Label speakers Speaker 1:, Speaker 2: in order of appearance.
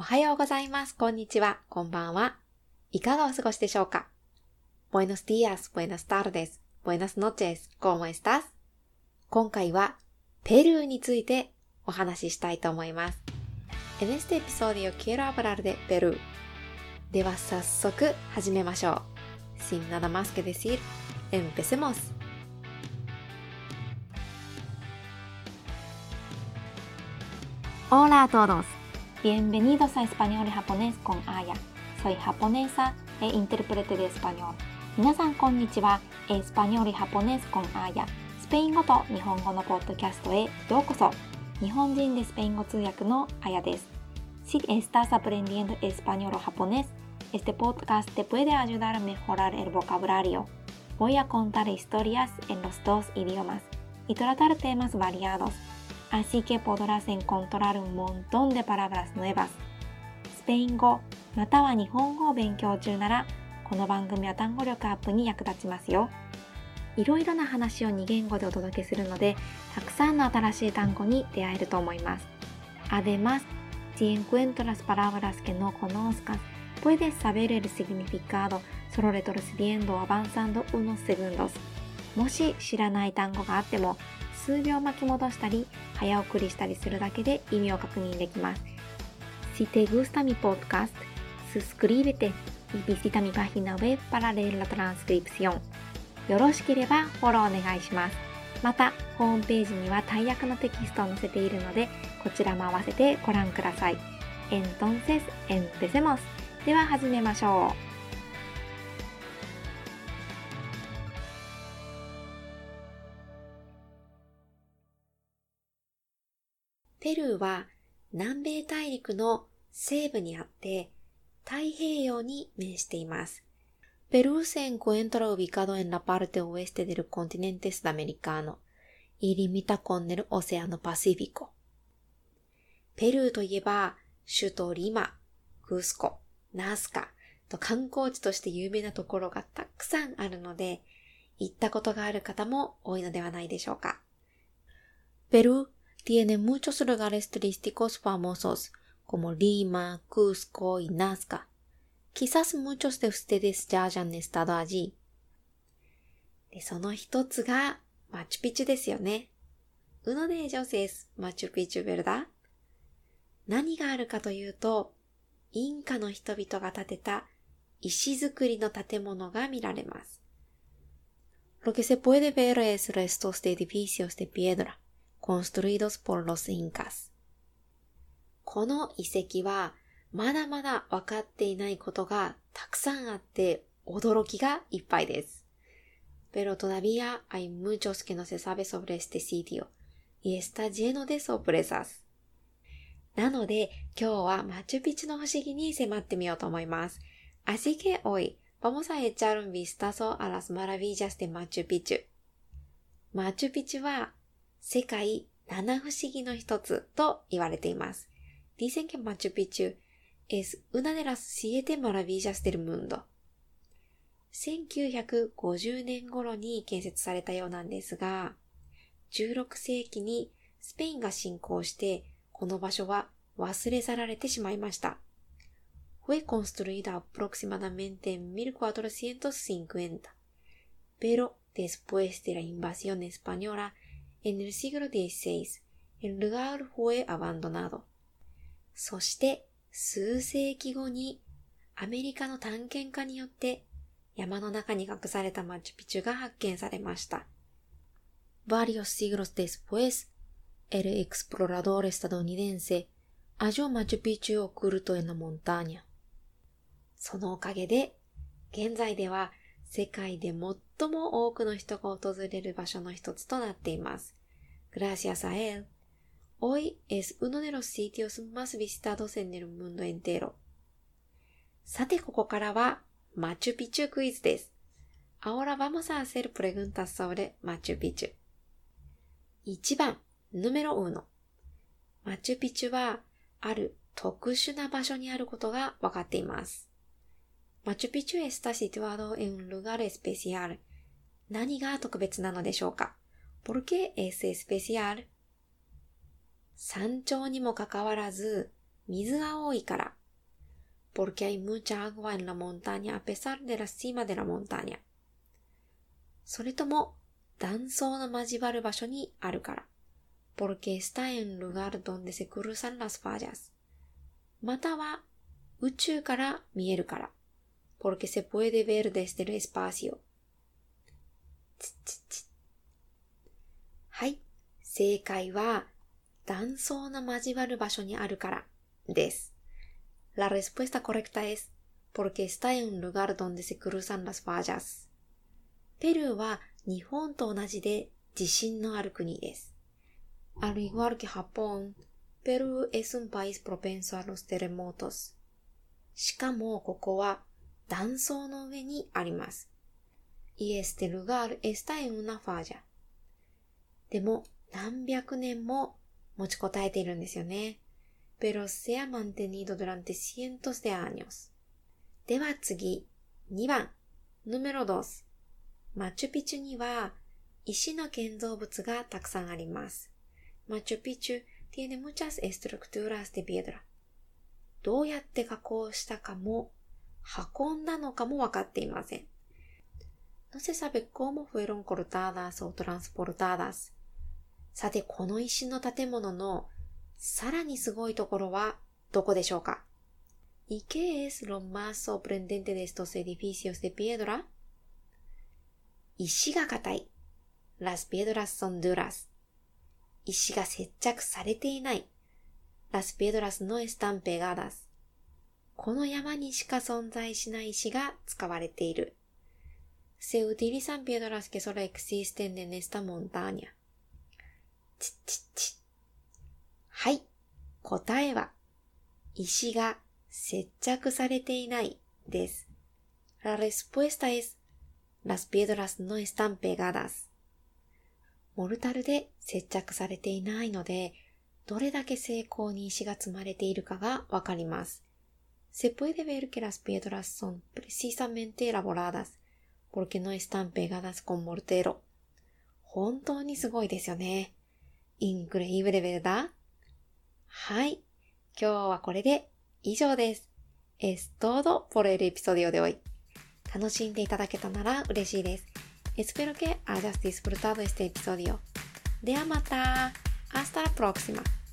Speaker 1: はようございます。こんにちは。こんばんは。いかがお過ごしでしょうか？ Buenos días, buenas tardes, buenas noches, ¿cómo estás? 今回はペルーについてお話ししたいと思います。En este episodio quiero hablar de Perú. では早速始めましょう。Sin nada más que decir, empecemos.
Speaker 2: Hola a todos. Bienvenidos a Español y Japonés con Aya. Soy japonesa e intérprete de español. 皆さんこんにちは。Español y Japonés con Aya. スペイン語と日本語のポッドキャストへようこそ。日本人でスペイン語通訳のAyaです。Si estás aprendiendo español o japonés, este podcast te puede ayudar a mejorar el vocabulario. Voy a contar historias en los dos idiomas y tratar temas variados.Así que podrás encontrar un montón de palabras nuevas. スペイン語または日本語を勉強中なら、この番組は単語力アップに役立ちますよ。いろいろな話を2言語でお届けするので、たくさんの新しい単語に出会えると思います。Además, si encuentras palabras que no conozcas, puedes saber el significado solo retrocediendo o avanzando unos segundos. もし知らない単語があっても、数秒巻き戻したり早送りしたりするだけで意味を確認できます。Si te gusta mi podcast, suscríbete y visita mi página web para leer la transcripción. よろしければフォローお願いします。また、ホームページには大役のテキストを載せているので、こちらも合わせてご覧ください。Entonces, empecemos. では始めましょう。
Speaker 1: ペルーは南米大陸の西部にあって太平洋に面しています。Perú se encuentra ubicado en la parte oeste del continente sudamericano y limita con el Océano Pacífico. ペルーといえば首都リマ、クスコ、ナスカと観光地として有名なところがたくさんあるので、行ったことがある方も多いのではないでしょうか。ペルーTiene muchos lugares turísticos famosos, como Lima, Cusco y Nazca. Quizás muchos de ustedes ya hayan estado allí. で、その一つがマチュピチュですよね。Uno de ellos es Machu Picchu, ¿verdad? 何があるかというと、インカの人々が建てた石造りの建物が見られます。Lo que se puede ver es restos de edificios de piedra.construidos por los incas. この遺跡はまだまだ分かっていないことがたくさんあって驚きがいっぱいです。Pero todavía hay muchos que no se sabe sobre este sitio y está lleno de sorpresas. なので今日はマチュピチュの不思議に迫ってみようと思います。Así que hoy vamos a echar un vistazo a las maravillas de Machu Picchu. マチュピチュは世界七不思議の一つと言われています。Dicen que Machu Picchu es una de las 7 maravillas del mundo. 1950年頃に建設されたようなんですが、16世紀にスペインが侵攻して、この場所は忘れ去られてしまいました。Fue construida aproximadamente en 1450, pero después de la invasión española,En el siglo XVI, el lugar fue abandonado. そして数世紀後にアメリカの探検家によって山の中に隠されたマチュピチュが発見されました。Varios siglos después, el explorador estadounidense halló Machu Picchu oculto en la montaña. そのおかげで現在では世界で最も多くの人が訪れる場所の一つとなっています。Gracias a él, hoy es uno de los sitios más visitados en el mundo entero. さてここからはマチュピチュクイズです。Ahora vamos a hacer preguntas sobre Machu Picchu. 1番、número 1。マチュピチュはある特殊な場所にあることが分かっています。Machu Picchu está situado en un lugar especial. 何が特別なのでしょうか？ ¿Por qué es especial? 山頂にもかかわらず、 水が多いから。porque hay mucha agua en la montaña a pesar de la cima de la montaña。それとも、断層の交わる場所にあるから。porque está en un lugar donde se cruzan las fallas。または、宇宙から見えるから。porque se puede ver desde el espacio。はい。正解は、断層の交わる場所にあるからです。La respuesta correcta es porque está en un lugar donde se cruzan las fallas。ペルーは日本と同じで地震のある国です。Al igual que Japón, Perú es un país propenso a los terremotos。しかもここは断層の上にあります。Y este lugar está en una falla。でも何百年も持ちこたえているんですよね。pero se ha mantenido durante cientos de años。では次、2番、número 2。マチュピチュには石の建造物がたくさんあります。マチュピチュ tiene muchas estructuras de piedra。どうやって加工したかも、運んだのかもわかっていません。No se sabe cómo fueron cortadas o transportadas。さて、この石の建物のさらにすごいところはどこでしょうか？ ¿Y qué es lo más sorprendente de estos edificios de piedra? 石が硬い。Las piedras son duras。石が接着されていない。Las piedras no están pegadas。この山にしか存在しない石が使われている。Se utilizan piedras que solo existen en esta montaña。はい。答えは、石が接着されていないです。La respuesta es, las piedras no están pegadas。モルタルで接着されていないので、どれだけ精巧に石が積まれているかがわかります。Se puede ver que las piedras son precisamente elaboradas, porque no están pegadas con mortero。本当にすごいですよね。Increíble, ¿verdad? はい。今日はこれで以上です。Es todo por el episodio de hoy。楽しんでいただけたなら嬉しいです。Espero que hayas disfrutado este episodio。ではまた。Hasta la próxima。